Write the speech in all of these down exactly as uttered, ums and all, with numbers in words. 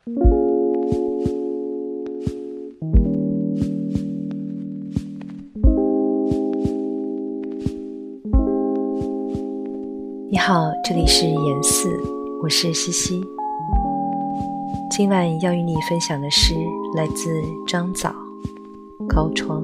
你好，这里是言四，我是西西。今晚要与你分享的诗来自张枣，高窗。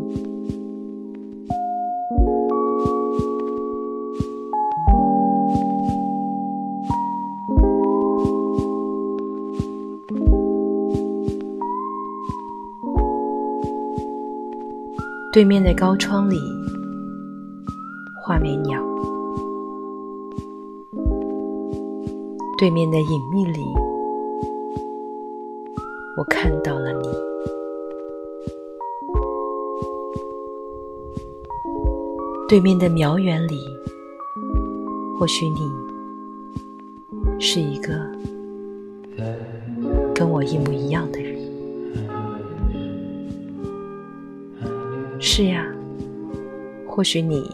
对面的高窗里，画眉鸟。对面的隐秘里，我看到了你。对面的渺远里，或许你是一个跟我一模一样的人。是呀，或许你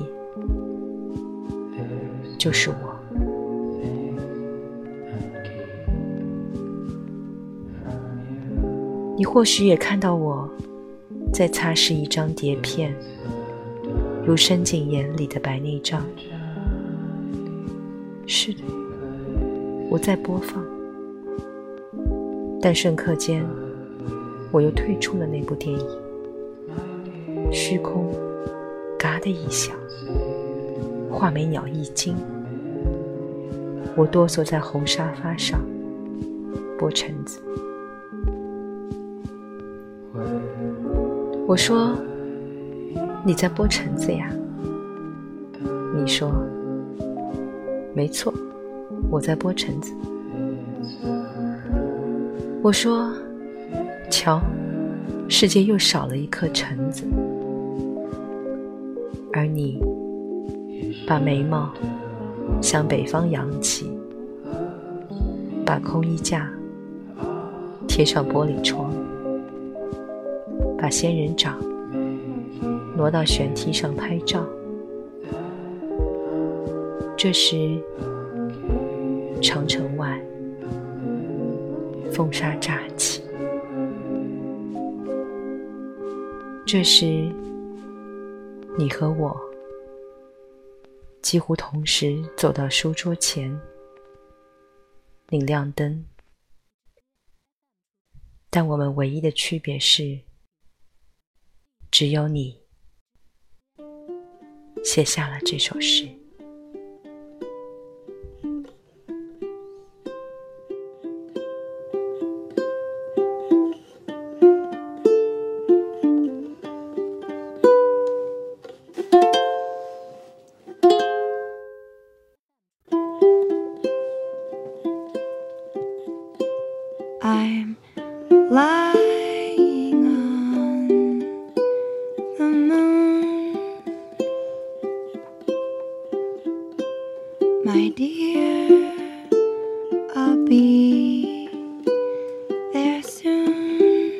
就是我。你或许也看到我在擦拭一张碟片，如深井眼里的白内障。是的，我在播放，但瞬刻间我又退出了那部电影。虚空嘎的一响，画眉鸟一惊，我哆嗦在红沙发上剥橙子。我说，你在剥橙子呀？你说，没错，我在剥橙子。我说，瞧，世界又少了一颗橙子。而你把眉毛向北方扬起，把空衣架贴上玻璃窗，把仙人掌挪到悬梯上拍照。这时长城外风沙乍起，这时你和我几乎同时走到书桌前，拧亮灯，但我们唯一的区别是，只有你写下了这首诗。 I'm lying on the moon, my dear, I'll be there soon.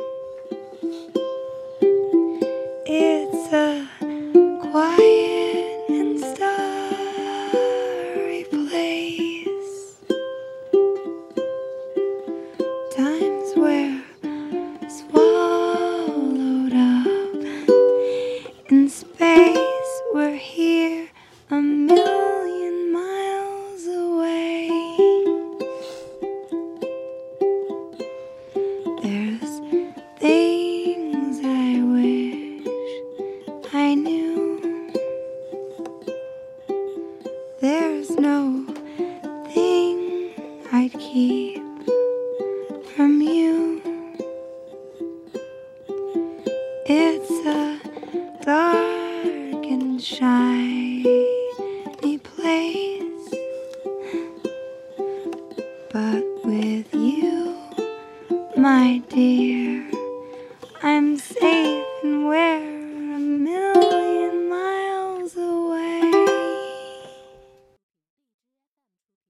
It's a quiet and starry place, times where swallowed up in space, we're here a million miles away. There's things I wish I knew. There's no thing I'd keep from you. It's a dark and shiny place, but with you, my dear, I'm safe and where